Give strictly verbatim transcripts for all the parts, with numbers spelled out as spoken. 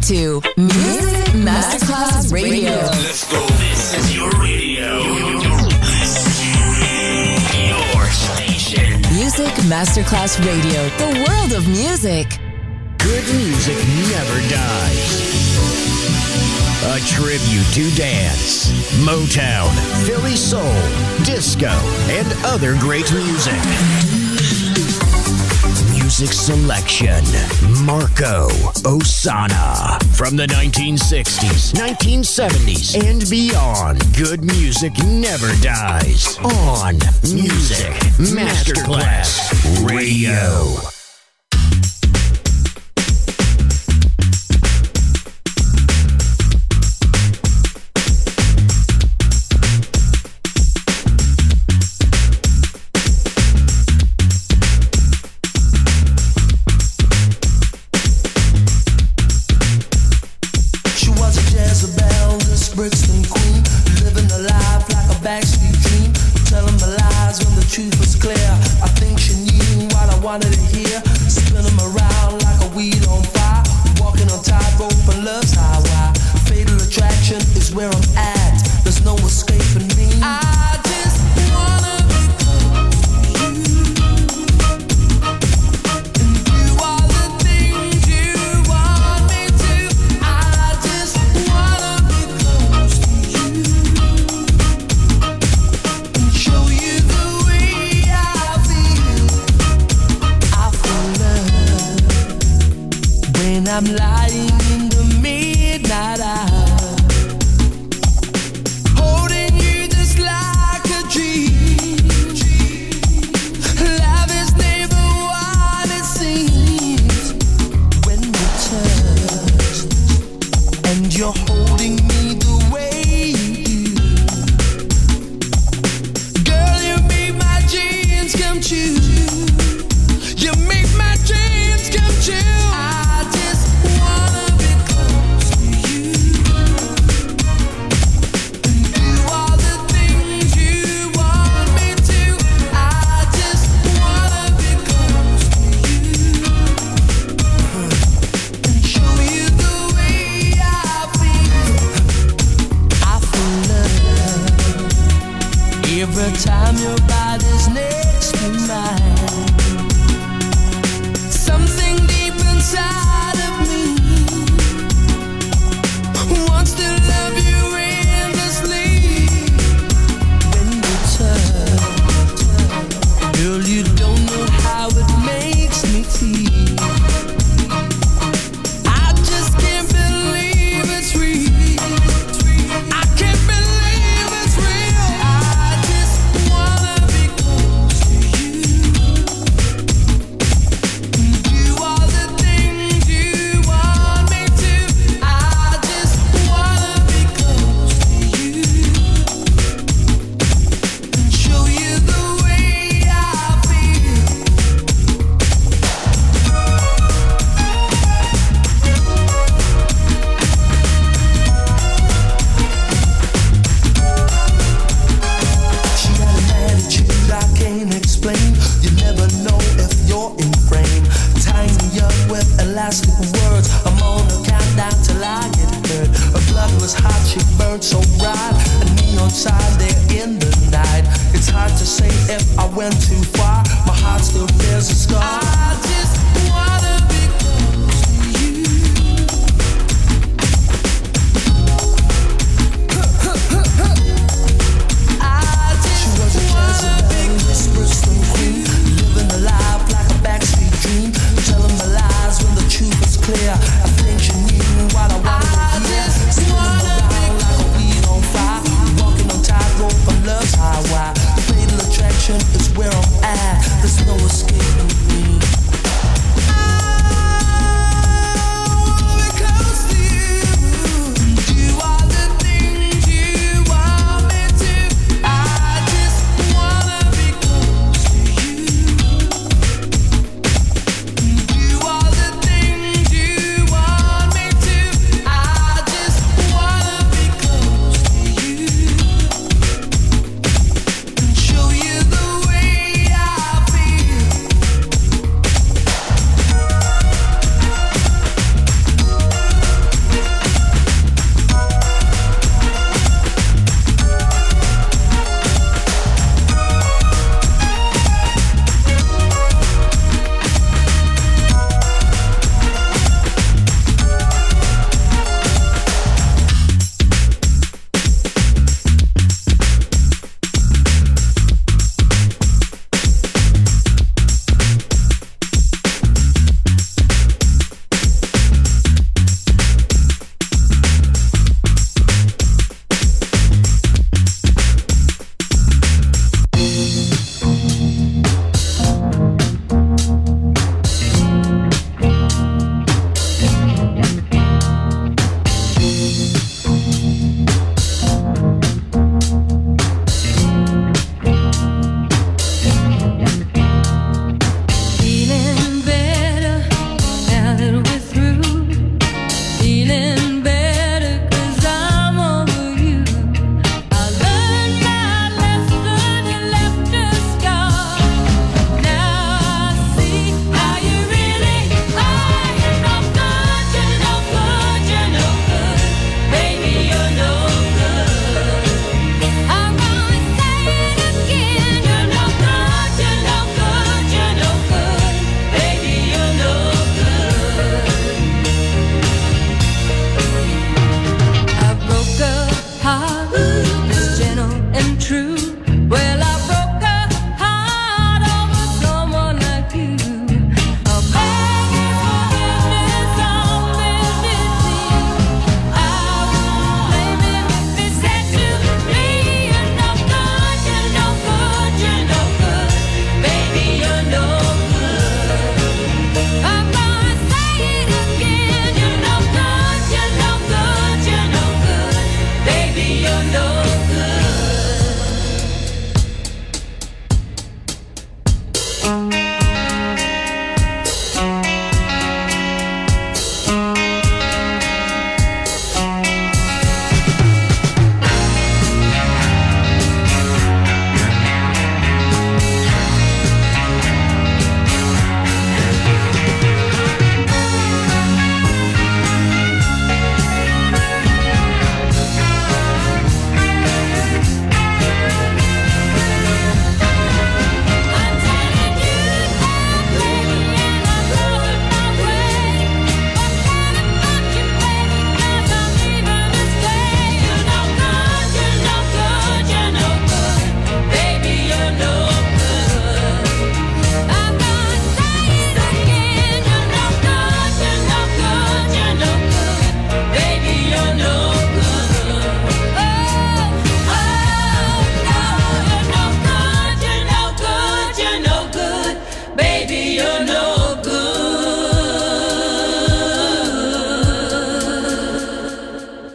to Music Masterclass Radio. Let's go. This is your radio. Your station. Music Masterclass Radio. The world of music. Good music never dies. A tribute to dance, Motown, Philly soul, disco, and other great music. Music selection, Marco Ossanna. From the nineteen sixties, nineteen seventies, and beyond, good music never dies. On Music Masterclass Radio.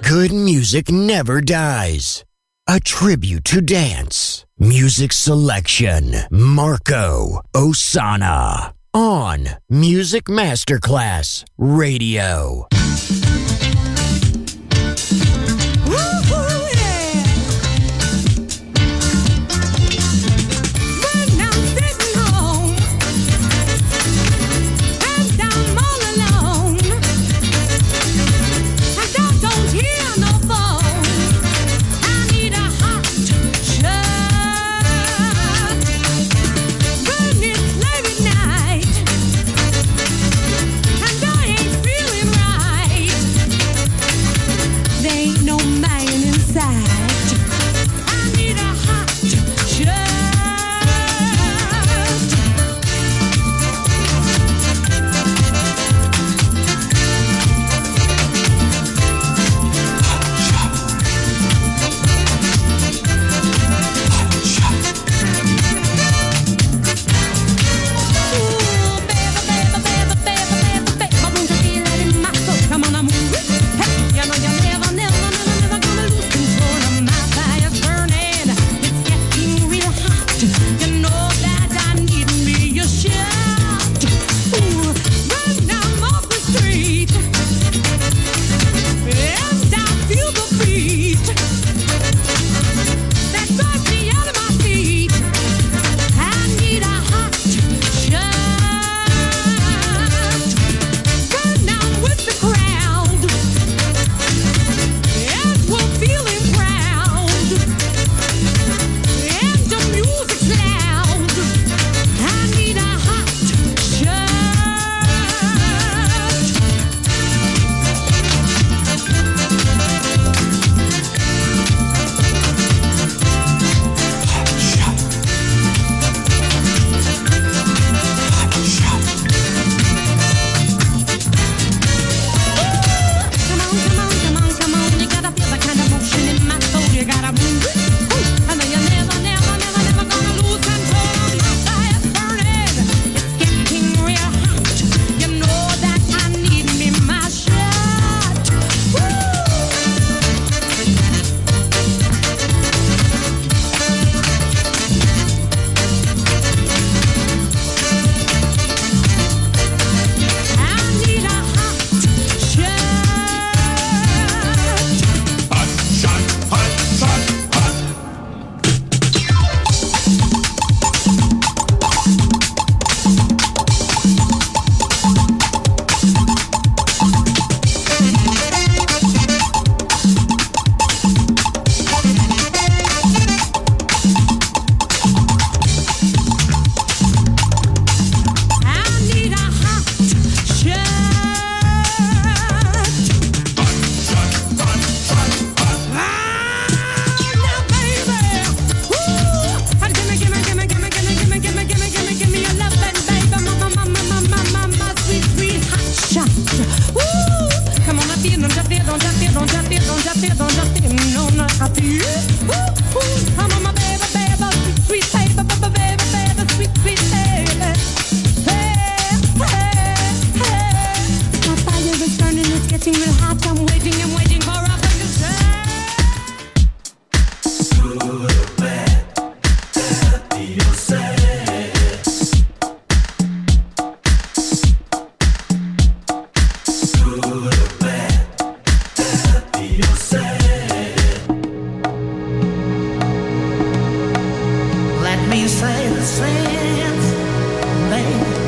good music never dies. A tribute to dance. Music selection. Marco Ossanna. On Music Masterclass Radio.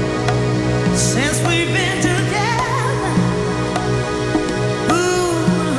Since we've been together, ooh,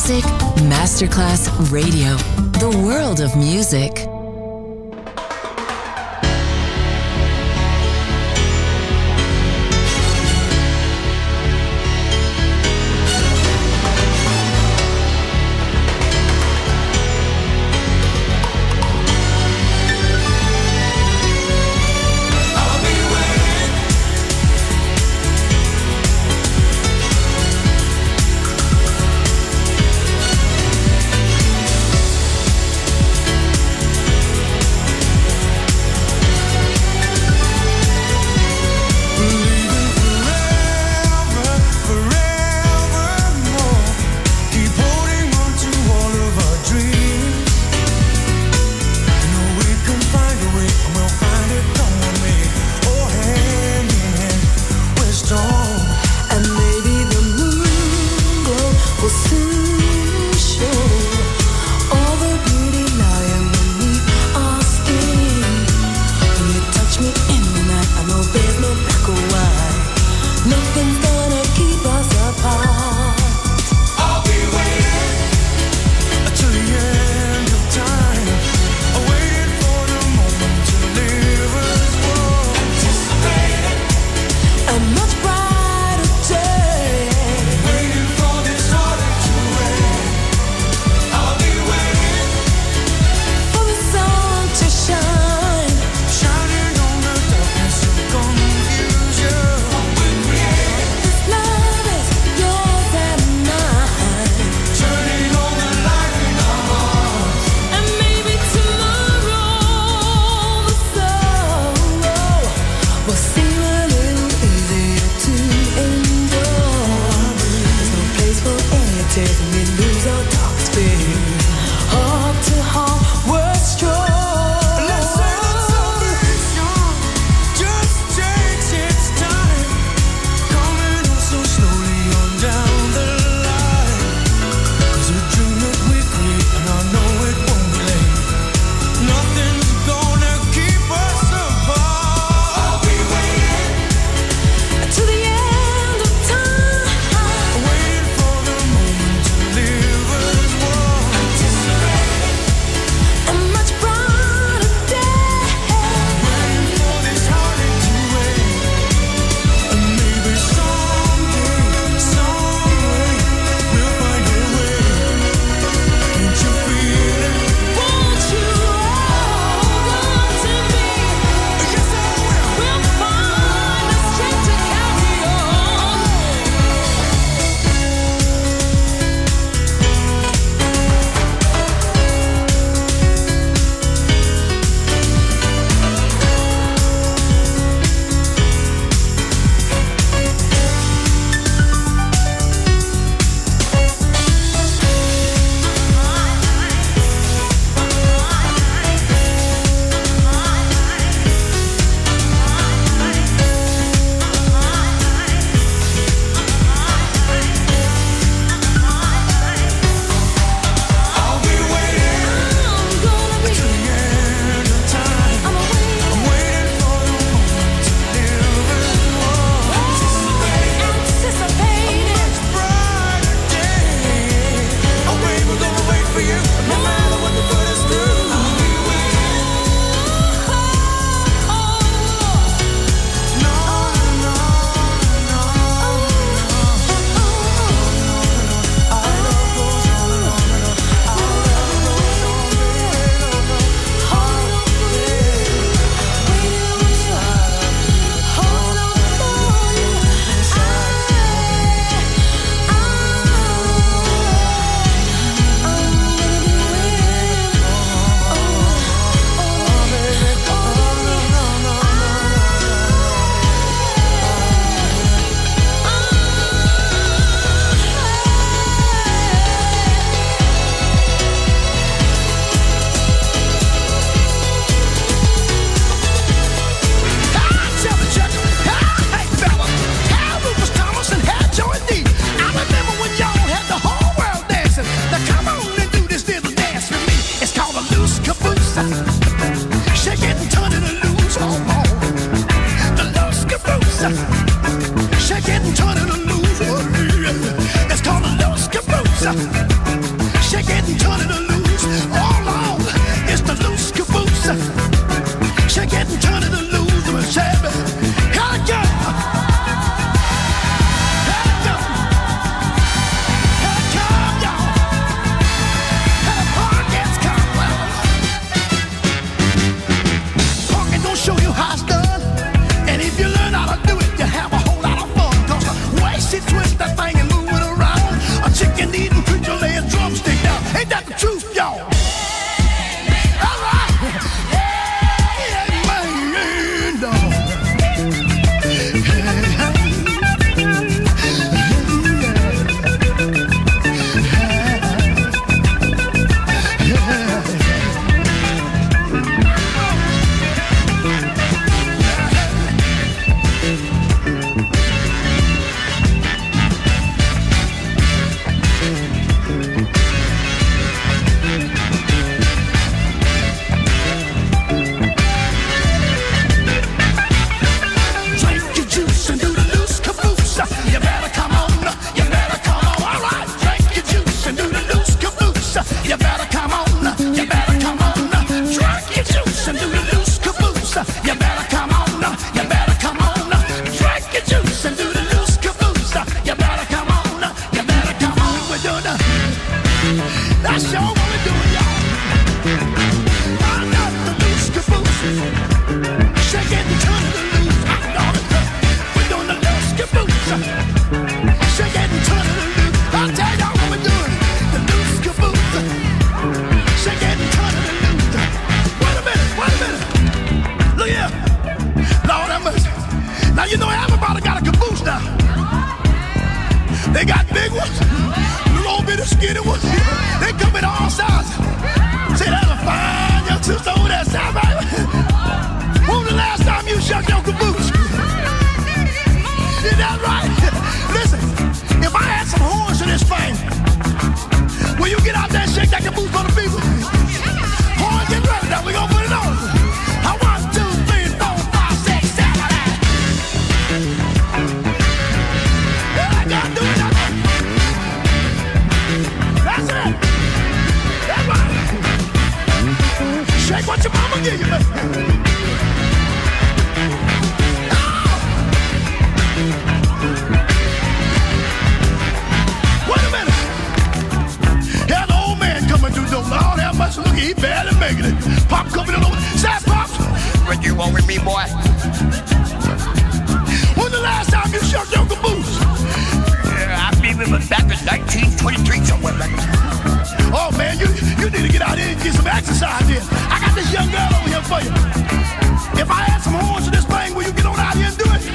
Music Masterclass Radio. The world of music. what your mama give you, man. Wait a minute. Here's an old man coming through the door. Lord have mercy, look, he barely making it. Pop coming in over. Say, Pops. What you want with me, boy? When's the last time you shucked your caboose? Uh, I remember back in nineteen twenty-three somewhere back. Oh, man, you, you need to get out there and get some exercise in. I got this young girl over here for you. If I add some horns to this thing, will you get on out here and do it?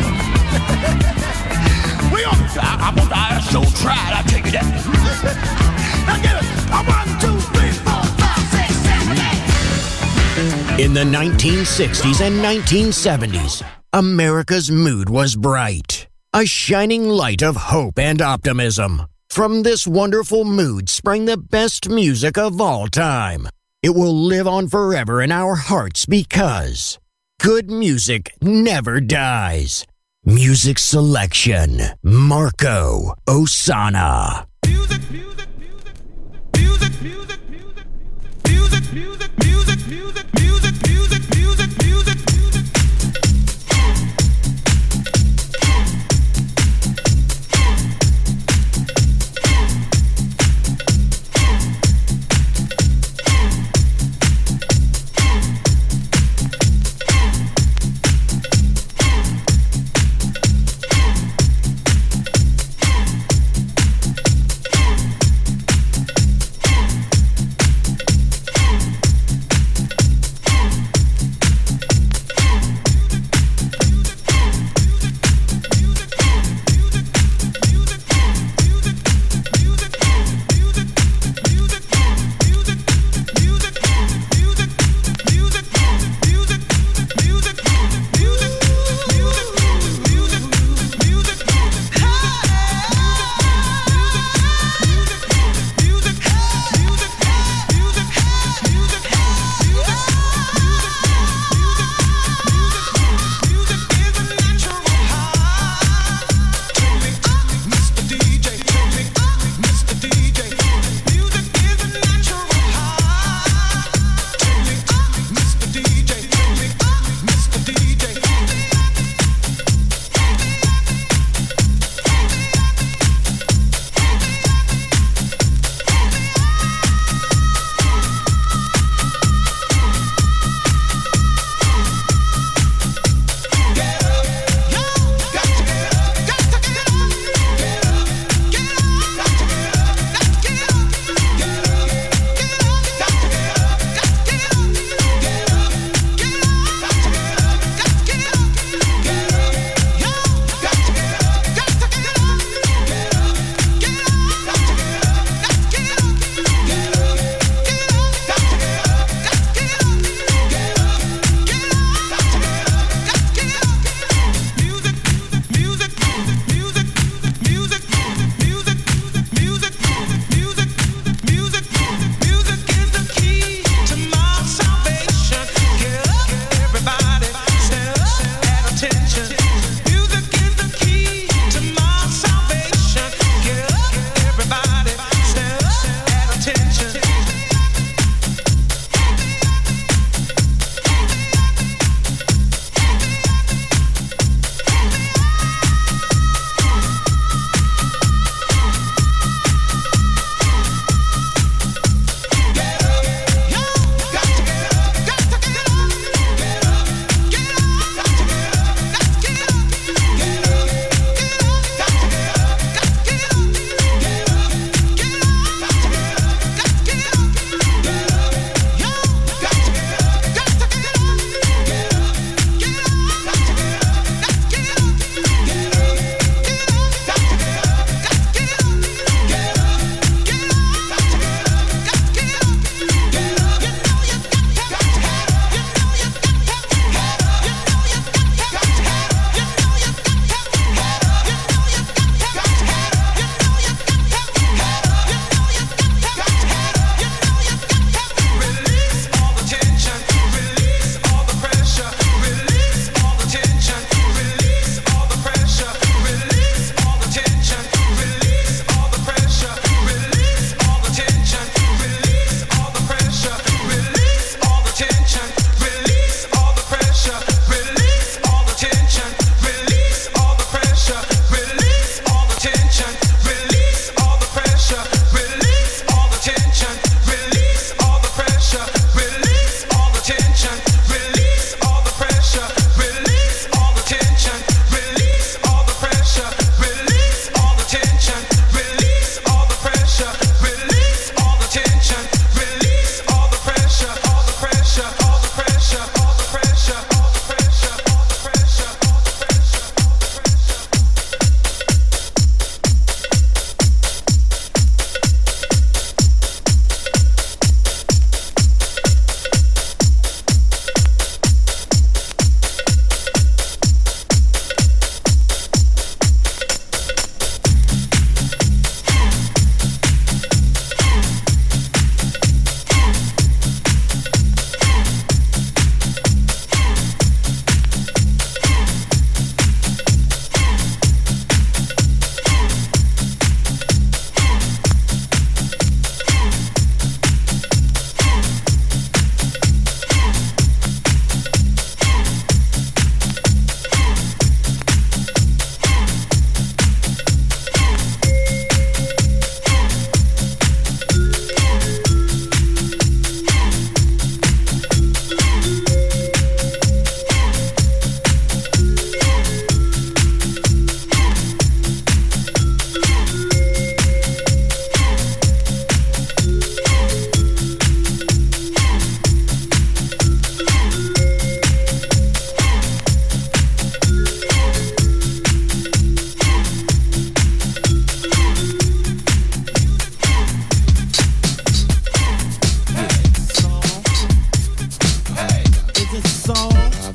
we on. I, I'm on the I S O tried, I'll take you that. Now get it. I'm one, two, three, four, five, six, seven, eight. In the nineteen sixties and nineteen seventies, America's mood was bright. A shining light of hope and optimism. From this wonderful mood sprang the best music of all time. It will live on forever in our hearts because good music never dies. Music selection, Marco Ossanna. Music, music, music, music, music, music, music, music, music, music, music, music, music, music, music.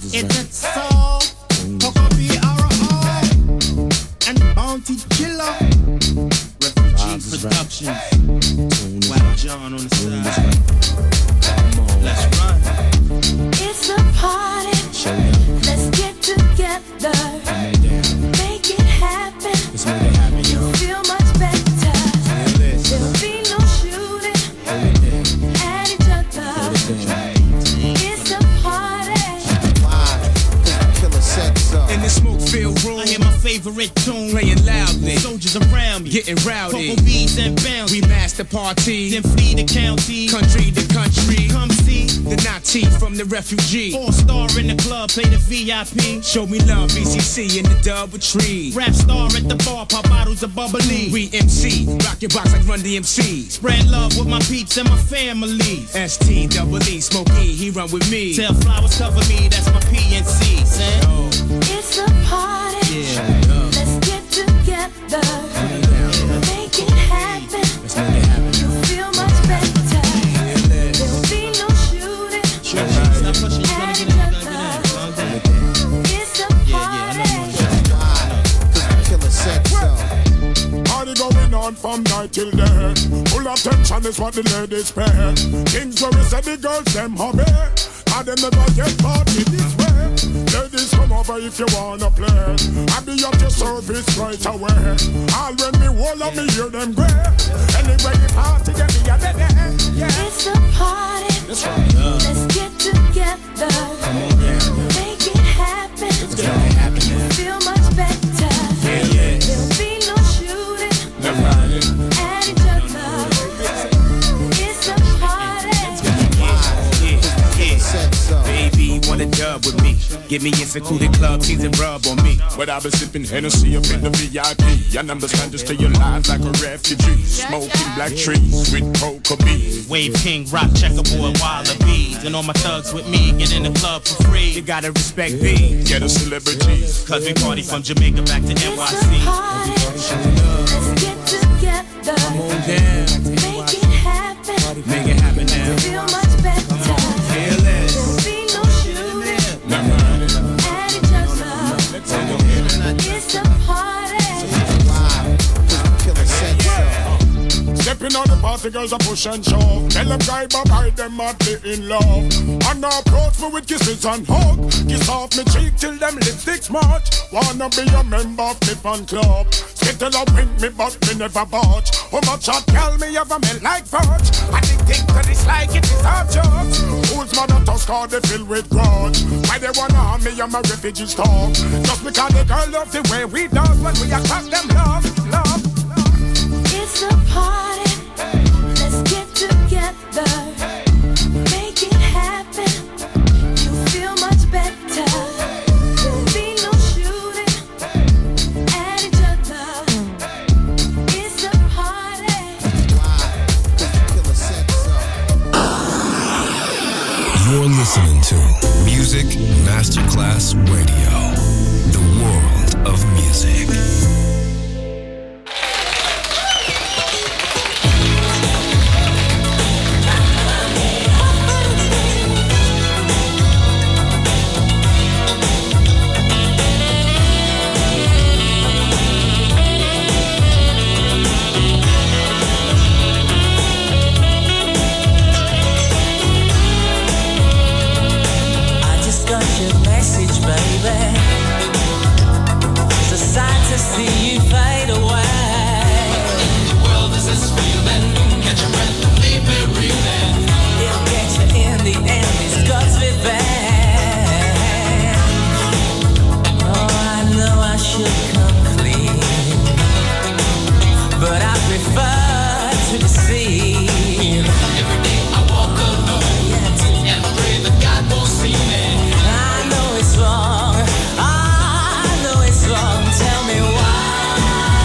It's a soul, Coco B R O, and Bounty Killer. Refugee Productions. Wow, John on the side. Let's run. It's a party. Let's get together. Make it happen. You feel much better. There'll be no shooting at each other. It's a party. Killer said so. In the smoke-filled room, I hear my favorite tune playing loudly. Soldiers around me, getting rowdy. Cocoa bees and bounce. We master party, then flee the county, country to country. Come see the Nazi from the refugee. All star in the club, play the V I P. Show me love, B C C in the double tree. Rap star at the bar, pop bottles of bubbly. We M C, rock your box like Run D M C. Spread love with my peeps and my family. S T double E, Smokey, he run with me. Tell flowers cover me, that's my P N C. Say, oh. It's a party. Yeah. Let's get together. Make it happen. Let's make it happen. You feel much better. There'll be no shooting. Sure, right. Stop pushing, you're gonna get it, you're gonna get it. It's a party. Killer said so. Party going on from night till day. Full of tension is what the ladies pay. Things where we say the girls them hobby. And them never get party this way. Ladies come over if you wanna play. I'll be at your service right away. All when me hold up, me hear them gray. Anyway, the party get me a day. Yeah. It's a party. That's right. Let's get together. Come on, yeah. Make it happen. Let's make it happen, You man. feel much better. Yeah, yeah. There'll be no shooting That's right. at each other. It's a party. Said so. Baby, wanna dub with me. Give me a secluded club, tease and rub on me. But I've been sipping Hennessy up in the V I P. And understand to stay alive like a refugee. Smoking black trees with cocoa beans. Wave King, rock checkerboard, wallabies. And all my thugs with me, get in the club for free. You gotta respect me, Get a celebrities. cause we party from Jamaica back to N Y It's a C. party. Let's get together. Come on down, Make it happen. make it happen now. Feel much better. Feel it. There'll be no shooting Never mind. at each other. It's a party. Killer said so. Stepping on the party, girls are push and shove. Tell them guy bye them madly in love. And now approach me with kisses and hug. Kiss off me cheek till them lipsticks march. Wanna be a member of me fan club. Skittle a win me but me never budge. How much hot girl me ever melt like fudge. Addicted to this like it is hard judge. Who's mother tusk or they fill with grudge. Why they wanna harm me and my refugees talk. Just because the girl love the way we done when we attack them love, love. It's a party. Let's get together. Make it happen. You feel much better. There'll be no shooting at each other. It's a party. Killer said so. You're listening to Music Masterclass Radio, the world of music. I just got your message, baby. It's a sight to see you fade away. The world is this feeling. Catch your breath and leave me breathing. It'll get you in the end. It's God's revenge. Oh, I know I should come clean, but I prefer to deceive. Every day I walk alone, yeah, and pray that God won't see me. I know it's wrong, I know it's wrong. Tell me why.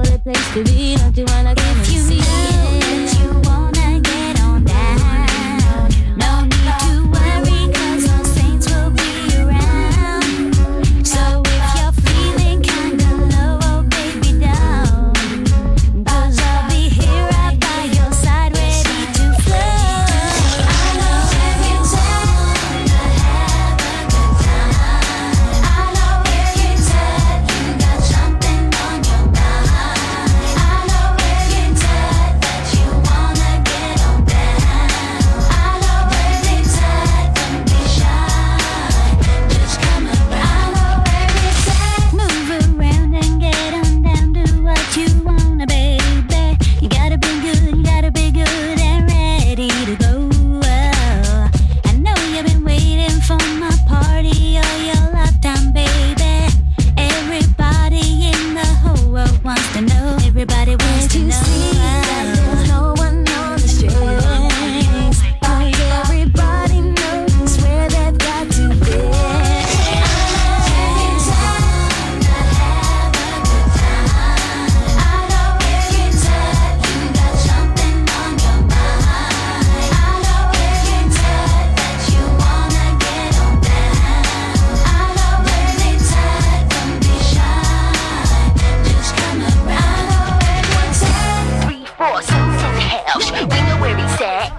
lovely place to be. Don't you wanna come and see? If you know that you wanna get on down, no need to worry, 'cause all saints will be around. So if you're feeling kinda low, oh baby, down, 'cause I'll be here right by your side, ready to flow. I know every time to have a good time. I know every time you got something on your mind. I know every time that you wanna get on down. I know every time, don't be shy, just come around. I know every time, move around and get on down, do what you wanna, baby. You gotta be good, you gotta be good and ready to go. I know you've been waiting for my party all your lifetime, baby. Everybody in the whole world wants to know. Everybody wants to know. There's no one on the strings, 'cause everybody knows where they've got to be. I know every time to have a good time. I know every time you got something on your mind. I know every time that you wanna get on down. I know every time, don't be shy, just come around. I know every time. Three, four, souls in the house, we know where he's at.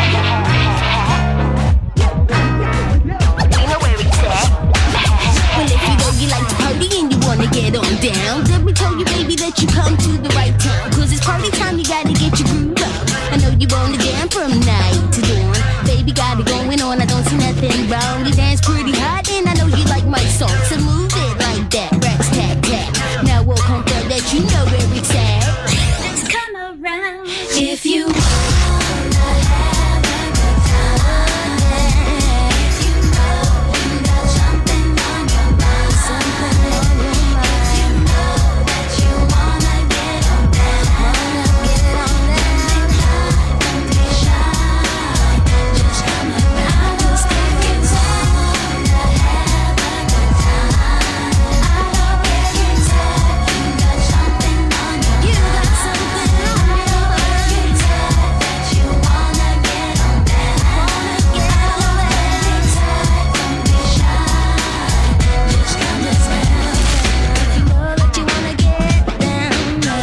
We know where he's at. Well, if you know you like to party and you wanna get on down, let me tell you, baby, that you come to the right town. 'Cause it's party time, you gotta get your groove on. I know you wanna jam from night to dawn. Baby, got it going on, I don't see nothing wrong. You dance pretty hot and I know you like my song, so move it like that, rats tat tat. Now we'll confirm that you know where it's at. Just come around if you wanna have a good time. If you know you got something on your mind, something on your mind. If you know that you wanna get on down, wanna get on down, don't be shy, just come around. 'Cause if you wanna have a good time, I know every time you got something on your mind. You got something on your mind. Every time that you wanna get on down, wanna get on down. Every time, don't be shy, just come around. If you know that you wanna get down,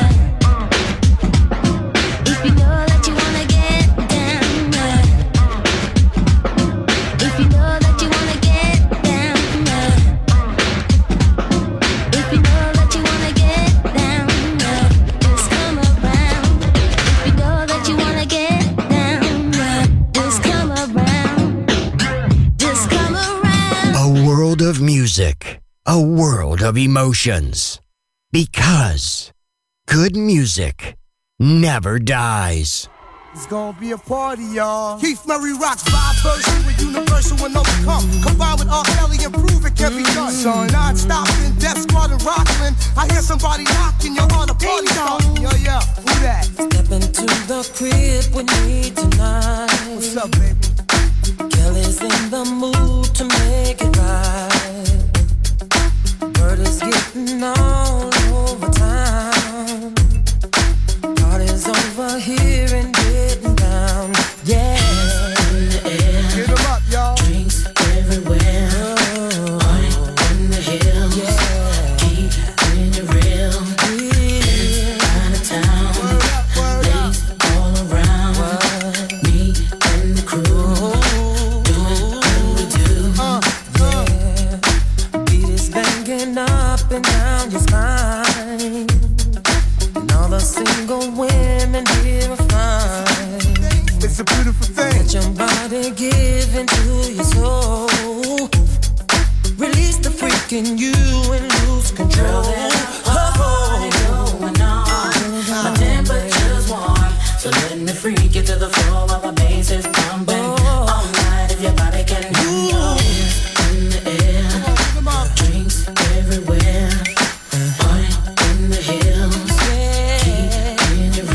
if you know that you wanna get down, if you know that you wanna get down, if you know that you wanna get down, just come around. If you know that you wanna get down, just come around, just come around. A world of music, a world of emotions. Because good music never dies. It's gonna be a party, y'all. Keith Murray rocks vibe version with universal and overcome. Combined with R. Kelly and prove it can be done. So not stopping, Death Squad and Rockland. I hear somebody knocking, you're on a party song. Yo, yo, who that? Step into the crib with me tonight. What's up, baby? Kelly's in the mood to make it right. Word is getting all over town. Party's over here and getting down. Yeah. Get them up, y'all. Drinks everywhere. Party in the hills. Yeah. Keep in your real. Yeah. Out of town. Word up, word up. Ladies all around. What? Me and the crew. Doing what we do. Uh, uh. Yeah. Beat is banging up and down your spine. And all the single women here are fine. It's a beautiful thing. Let your body give into your soul. Release the freak in you and lose control. Oh, going on. My temperature's warm, so let me freak you to the floor while the bass is pumping. All night if your body can move. In the air, drinks everywhere. Party in the hills. Keep in your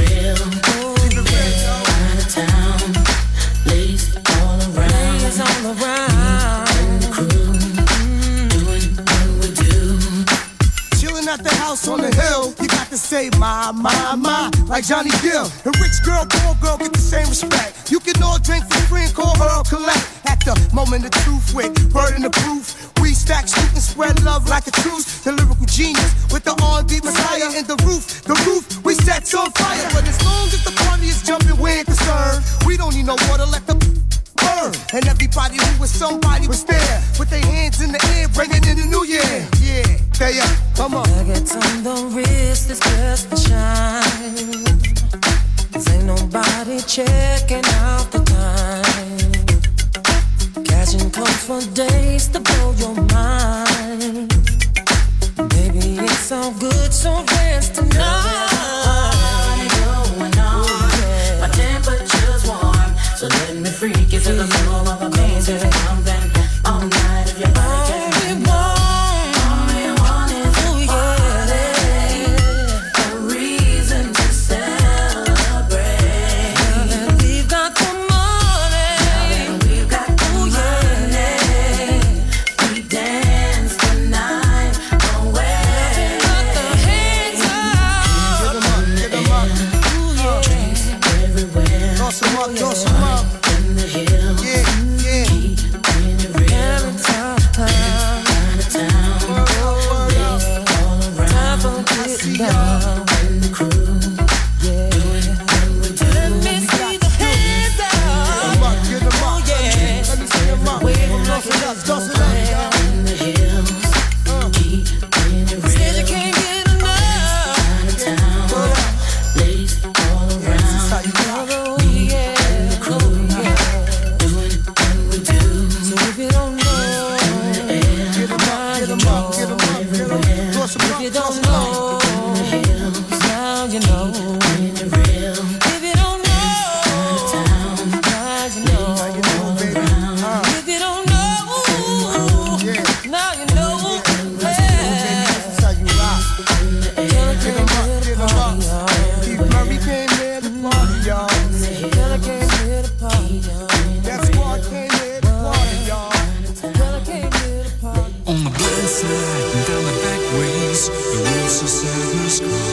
my, my, my, like Johnny Gill. And rich girl, poor girl get the same respect. You can all drink for free and call her or collect. At the moment of truth with burden of proof, we stack, shoot, and spread love like a truce. The lyrical genius with the R and B messiah in the roof. The roof we set on fire. But as long as the party is jumping, we ain't concerned. We don't need no water, let the burn. And everybody who was somebody was there with their hands in the air, bringing in the new year. Yeah, they up, come on. Nuggets on the wrist is just a shine. Cause ain't nobody checking out the time. Cashing comes for days to blow your mind. Baby, it's all good, so dance tonight. My temperature's warm, so let me freak you to the floor of a maze. If it comes then all night, if your body gets me warm, all you want is a party, a reason to celebrate. Now that we've got the money, now that we've got the money, we dance the night away. got the hands up. Get 'em up, get 'em up. Drinks everywhere. Toss 'em up, toss 'em up. In the hills, Yeah, yeah. keep in the real. Every time, time, Out of town, Word up, word up. all around. time for getting down. And the crew, Yeah. Let me see the hands Get 'em up. up, get 'em up. Let me see 'em up. Toss it up, toss it up, y'all. in the hills, keep in the Said real. you can't get enough. Out of town, ladies all around. How you rock. Oh, yeah. Oh, yeah. Doing what we do. So if you don't know, Get 'em up, get 'em up, get 'em up, get 'em up. Toss 'em if up, you toss don't 'em up. know, now you know. In the real. If you don't know, now you know. You know, baby. Uh, If you don't know, yeah. now you know. Yeah. That's how you rock. Get 'em up, get 'em up. Keith Murray came here to party, y'all. Girl, I came here to party, y'all. That squad came here to party, y'all. Girl, I came here to party. On the blind side and down the back ways, the rules of sadness crawl.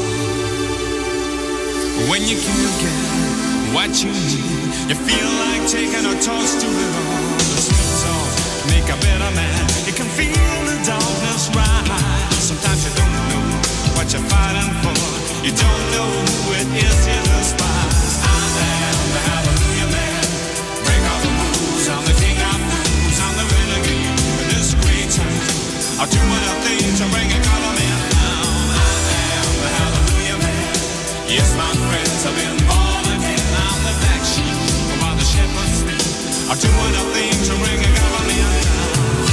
When you can't get what you need, you feel like taking a toast to it all. The sweet talk make a better man. You can feel the darkness rise. Sometimes you don't know what you're fighting for. You don't know who it is you despise. I am the hallelujah man. Break all the rules. I'm the king of fools. I'm the renegade in this great town. I'll do what I think to bring a government down. I am the hallelujah man. Yes, my friends, I've been born again. I'm the black sheep while the shepherds sleep. I'll do what I think to bring a government down.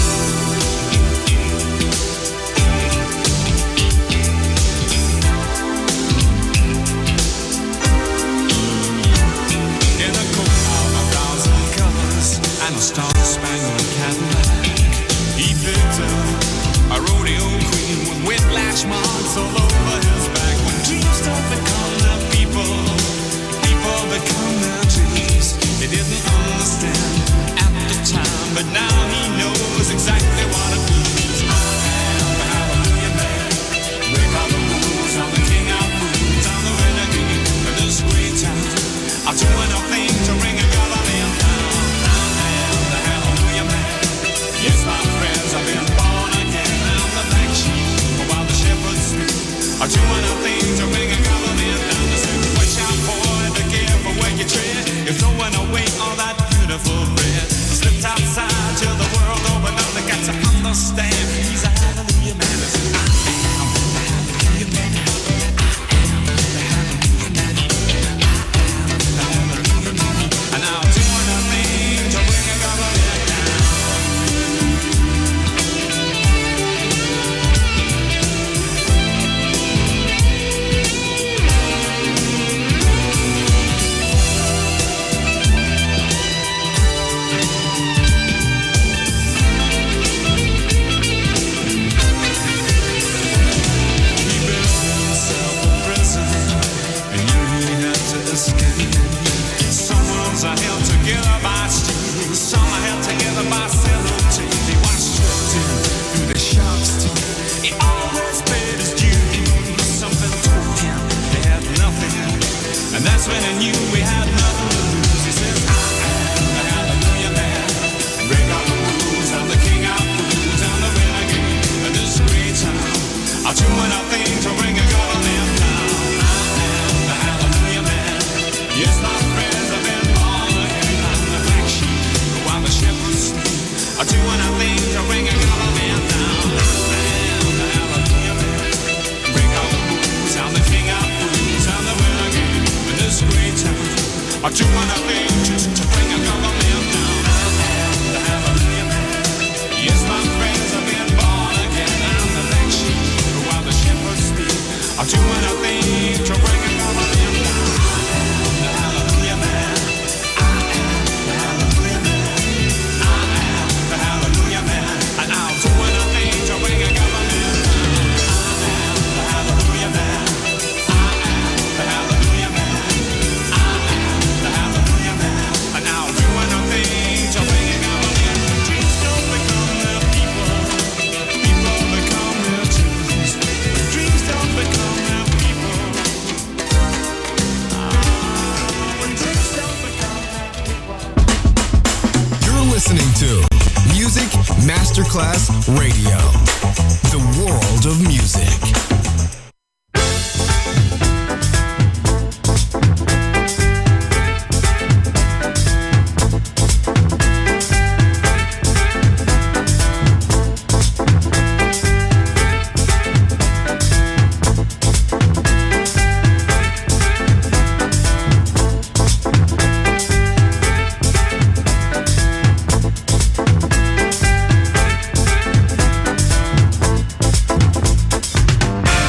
In a coat of a thousand colors and a star-spangled Cadillac, he picked up a rodeo queen with whiplash marks all over his back. When dreams start to come, that knew we had nothing to lose. He says, I am the hallelujah man. Break all the rules, I'm the king of fools, I'm the renegade of this great town. I'll do anything to bring a government down. I am the hallelujah man. Yes, my friends have been born again. I'm the black sheep while the shepherds sleep. I'll do anything to bring a government down. I am the hallelujah man. Break all the rules, I'm the king of fools, I'm the renegade in this great town. I'll do anything to, to bring a government down. I am the hallelujah man. Yes, my friends have been born again. I'm the black sheep while the shepherds sleep. I'll do anything to bring a government down. I am the hallelujah man. I am the hallelujah man. I am the hallelujah man. And I'll do anything to bring a government down. I am the hallelujah man. I am the hallelujah man. I am the hallelujah man. And I'll do anything to bring a government. Dreams don't become their people. People become their dreams. Dreams don't become their people. Ah, when dreams don't become their people. You're listening to Music Masterclass Radio, the world of music. I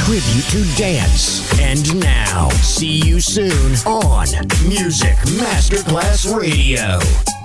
tribute to dance. And now, see you soon on Music Masterclass Radio.